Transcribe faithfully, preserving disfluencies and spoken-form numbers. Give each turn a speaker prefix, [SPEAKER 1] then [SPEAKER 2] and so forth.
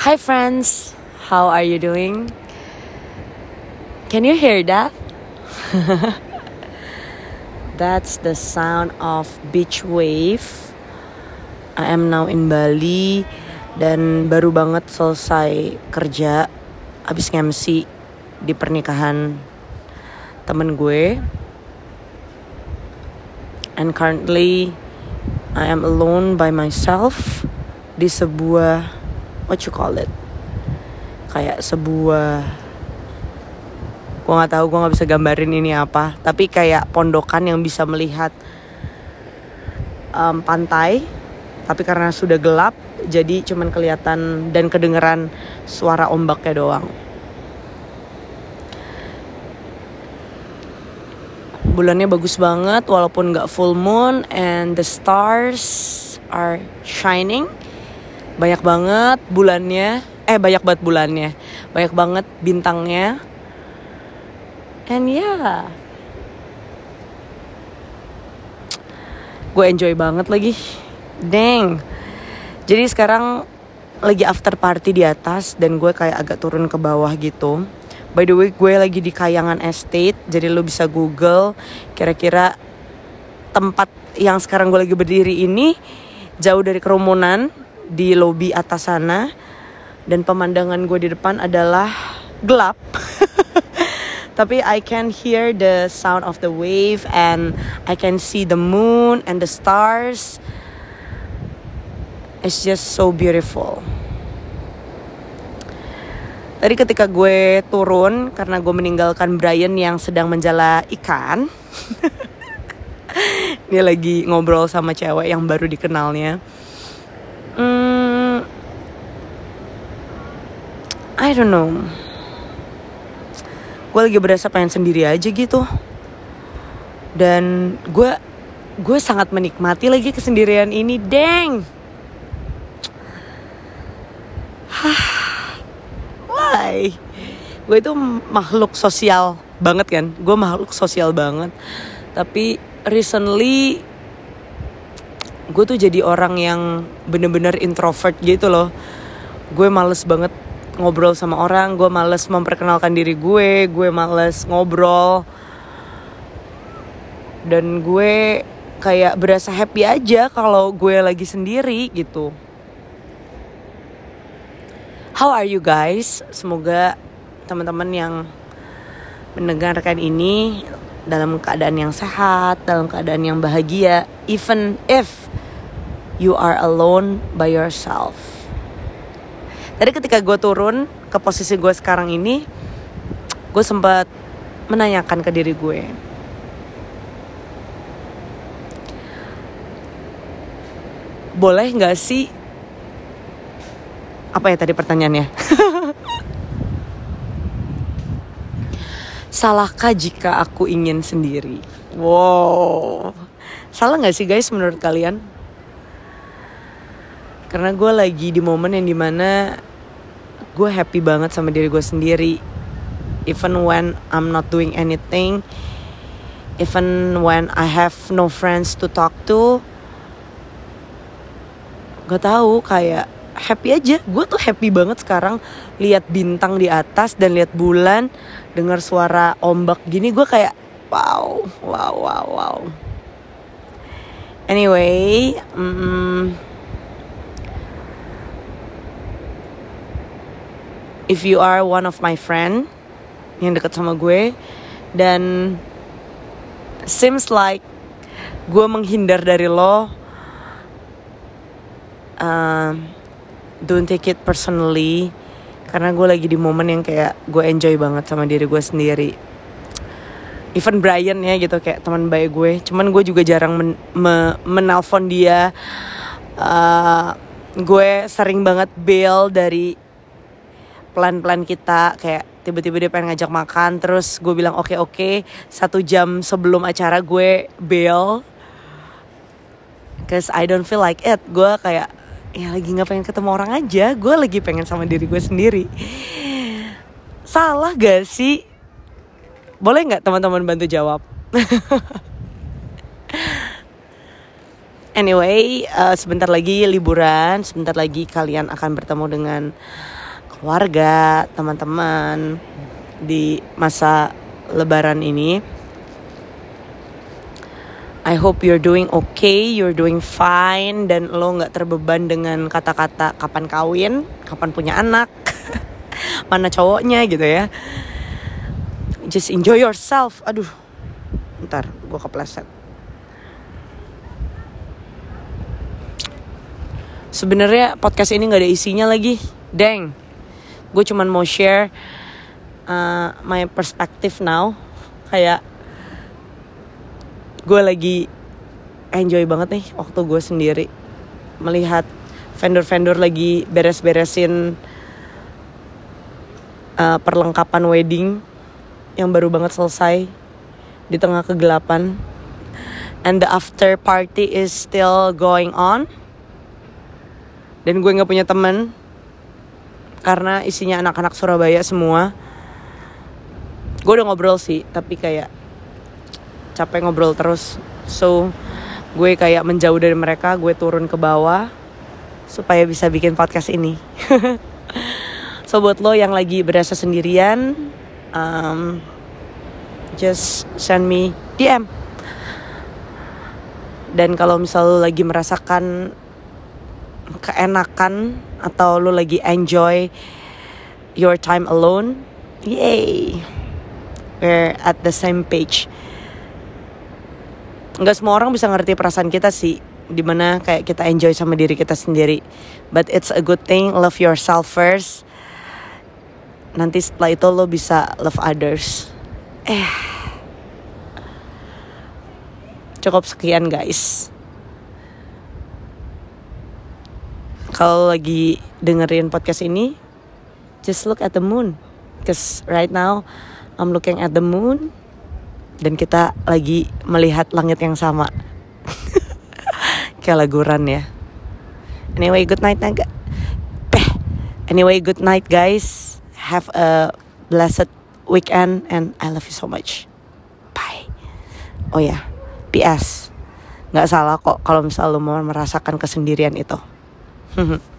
[SPEAKER 1] Hi friends, how are you doing? Can you hear that? That's the sound of beach wave. I am now in Bali dan baru banget selesai kerja, abis nge-M C di pernikahan temen gue. And currently I am alone by myself di sebuah, what you call it, kayak sebuah, gue nggak tahu, gue nggak bisa gambarin ini apa, tapi kayak pondokan yang bisa melihat um, pantai, tapi karena sudah gelap jadi cuman kelihatan dan kedengeran suara ombaknya doang. Bulannya bagus banget walaupun gak full moon, and the stars are shining. Banyak banget bulannya, eh banyak banget bulannya, banyak banget bintangnya. And yeah, gue enjoy banget lagi. Dang. Jadi sekarang lagi after party di atas dan gue kayak agak turun ke bawah gitu. By the way, gue lagi di Kayangan Estate, jadi lo bisa Google kira-kira tempat yang sekarang gue lagi berdiri ini jauh dari kerumunan di lobi atas sana, dan pemandangan gue di depan adalah gelap. Tapi I can hear the sound of the wave and I can see the moon and the stars. It's just so beautiful. Tadi ketika gue turun, karena gue meninggalkan Brian yang sedang menjala ikan. Dia lagi ngobrol sama cewek yang baru dikenalnya. Hmm, I don't know. Gue lagi berasa pengen sendiri aja gitu. Dan gue gue sangat menikmati lagi kesendirian ini, deng. Why? Gue itu makhluk sosial banget kan. Gue makhluk sosial banget. Tapi recently gue tuh jadi orang yang bener-bener introvert gitu loh. Gue males banget ngobrol sama orang. Gue males memperkenalkan diri gue. Gue males ngobrol. Dan gue kayak berasa happy aja kalau gue lagi sendiri gitu. How are you guys? Semoga teman-teman yang mendengarkan ini dalam keadaan yang sehat, dalam keadaan yang bahagia, even if you are alone by yourself. Tadi ketika gue turun ke posisi gue sekarang ini, gue sempat menanyakan ke diri gue, boleh gak sih, apa ya tadi pertanyaannya? Salahkah jika aku ingin sendiri? Wow, salah gak sih guys menurut kalian? Karena gue lagi di momen yang dimana gue happy banget sama diri gue sendiri. Even when I'm not doing anything, even when I have no friends to talk to, gak tahu, kayak happy aja. Gue tuh happy banget sekarang lihat bintang di atas dan lihat bulan, dengar suara ombak gini, gue kayak wow, wow, wow, wow. Anyway, um, if you are one of my friend yang dekat sama gue dan seems like gue menghindar dari lo, uh, don't take it personally, karena gue lagi di momen yang kayak gue enjoy banget sama diri gue sendiri. Even Brian ya gitu, kayak teman baik gue, cuman gue juga jarang men- me- menelpon dia. uh, Gue sering banget bail dari plan-plan kita, kayak tiba-tiba dia pengen ngajak makan, terus gue bilang oke oke, satu jam sebelum acara gue bail, cause I don't feel like it. Gue kayak ya lagi gak pengen ketemu orang aja. Gue lagi pengen sama diri gue sendiri. Salah gak sih? Boleh gak teman-teman bantu jawab? Anyway, uh, sebentar lagi liburan, sebentar lagi kalian akan bertemu dengan keluarga, teman-teman di masa lebaran ini. I hope you're doing okay, you're doing fine, dan lo gak terbeban dengan kata-kata kapan kawin, kapan punya anak, mana cowoknya gitu ya. Just enjoy yourself. Aduh, ntar gue kepleset. Sebenarnya podcast ini gak ada isinya lagi. Dang, gue cuman mau share uh, my perspective now. Kayak gue lagi enjoy banget nih waktu gue sendiri melihat vendor-vendor lagi beres-beresin uh, perlengkapan wedding yang baru banget selesai di tengah kegelapan, and the after party is still going on, dan gue nggak punya teman karena isinya anak-anak Surabaya semua. Gue udah ngobrol sih, tapi kayak capek ngobrol terus. So gue kayak menjauh dari mereka, gue turun ke bawah supaya bisa bikin podcast ini. So buat lo yang lagi berasa sendirian, um, just send me D M. Dan kalau misal lo lagi merasakan keenakan atau lo lagi enjoy your time alone, yay, we're at the same page. Nggak semua orang bisa ngerti perasaan kita sih, dimana kayak kita enjoy sama diri kita sendiri. But it's a good thing, love yourself first. Nanti setelah itu lo bisa love others. Eh, cukup sekian guys. Kalau lagi dengerin podcast ini, just look at the moon, cause right now I'm looking at the moon. Dan kita lagi melihat langit yang sama. Kayak lagu Run ya. Anyway, good night naga. Peh. Anyway, good night guys. Have a blessed weekend and I love you so much. Bye. Oh ya, P S. Gak salah kok kalau misal lo mau merasakan kesendirian itu.